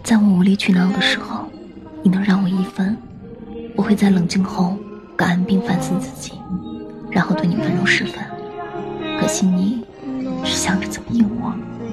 在我无理取闹的时候，你能让我一分，我会在冷静后感恩并反思自己，然后对你温柔10分。可惜你只想着怎么应我。